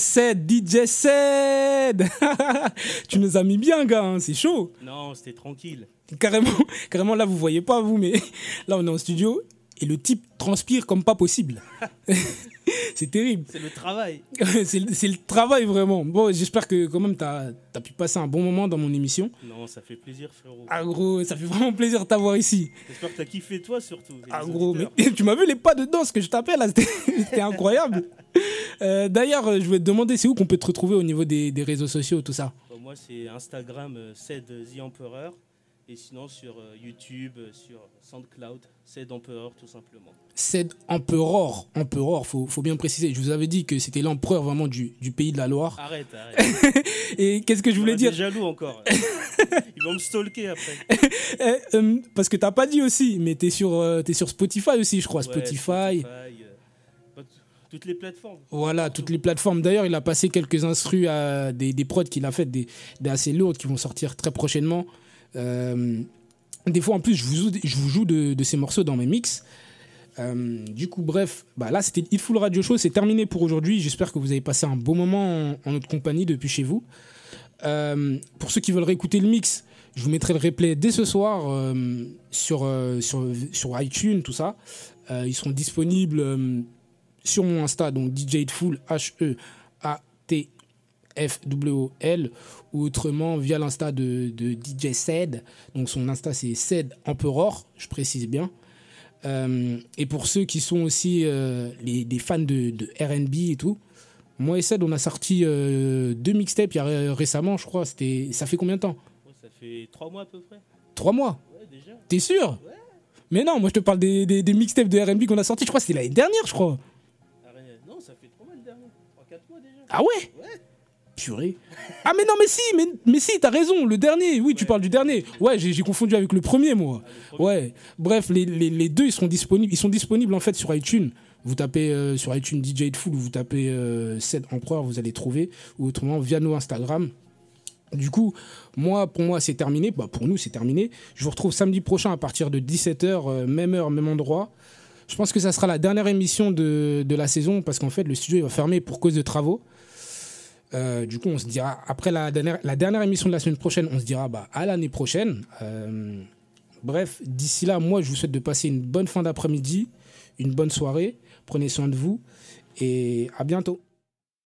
S5: Said. Tu nous as mis bien, gars, hein, c'est chaud.
S6: Non, c'était tranquille.
S5: Carrément, là, vous voyez pas, vous, mais là, on est en studio et le type transpire comme pas possible. C'est terrible.
S6: C'est le travail.
S5: c'est le travail, vraiment. Bon, j'espère que quand même, t'as pu passer un bon moment dans mon émission.
S6: Non, ça fait plaisir, frérot.
S5: Ah, gros, ça fait vraiment plaisir de t'avoir ici.
S6: J'espère que t'as kiffé, toi, surtout.
S5: Ah, gros, mais tu m'as vu les pas de danse que je t'appelle, là, c'était incroyable. D'ailleurs, je voulais te demander, c'est où qu'on peut te retrouver au niveau des réseaux sociaux, tout ça?
S6: Moi, c'est Instagram, Said The Emperor. Et sinon, sur YouTube, sur SoundCloud, Said Emperor, tout simplement.
S5: Said Emperor, faut bien préciser. Je vous avais dit que c'était l'empereur vraiment du pays de la Loire.
S6: Arrête.
S5: Et qu'est-ce que je voulais dire?
S6: Jaloux encore. Ils vont me stalker après.
S5: Parce que t'as pas dit aussi, mais t'es sur Spotify aussi, je crois. Ouais, Spotify.
S6: Toutes les plateformes.
S5: Voilà, toutes les plateformes. D'ailleurs, il a passé quelques instrus à des prods qu'il a fait, des assez lourdes qui vont sortir très prochainement. Des fois, en plus, je vous joue de ces morceaux dans mes mix. Du coup, bref, là c'était Hitful Radio Show, c'est terminé pour aujourd'hui. J'espère que vous avez passé un bon moment en notre compagnie depuis chez vous. Pour ceux qui veulent réécouter le mix, je vous mettrai le replay dès ce soir sur iTunes, tout ça. Ils seront disponibles sur mon Insta, donc DJ Hitful, HEATFWOL, ou autrement via l'Insta de DJ Ced. Donc son Insta c'est Ced Emperor, je précise bien. Et pour ceux qui sont aussi des fans de R&B et tout, moi et Ced on a sorti 2 mixtapes récemment, je crois. Ça fait combien de temps?
S6: Ça fait 3 mois à peu près.
S5: 3 mois?
S6: Ouais, déjà.
S5: T'es sûr?
S6: Ouais.
S5: Mais non, moi je te parle des mixtapes de R&B qu'on a sorti, je crois que c'était l'année dernière, je crois.
S6: Non, ça fait 3 mois le dernier. 3-4 mois déjà.
S5: Ah ouais? Ouais. Purée. Ah mais non, mais si, t'as raison, le dernier, oui, tu parles du dernier. Ouais, j'ai confondu avec le premier, moi. Ouais. Bref, les deux, ils sont disponibles en fait sur iTunes. Vous tapez sur iTunes DJ Hitful, ou vous tapez Ced Empereur, vous allez trouver, ou autrement via nos Instagram. Du coup, pour moi, c'est terminé. Pour nous, c'est terminé. Je vous retrouve samedi prochain à partir de 17h, même heure, même endroit. Je pense que ça sera la dernière émission de la saison, parce qu'en fait, le studio il va fermer pour cause de travaux. Du coup, on se dira, après la dernière émission de la semaine prochaine, on se dira à l'année prochaine. Bref, d'ici là, moi, je vous souhaite de passer une bonne fin d'après-midi, une bonne soirée. Prenez soin de vous et à bientôt.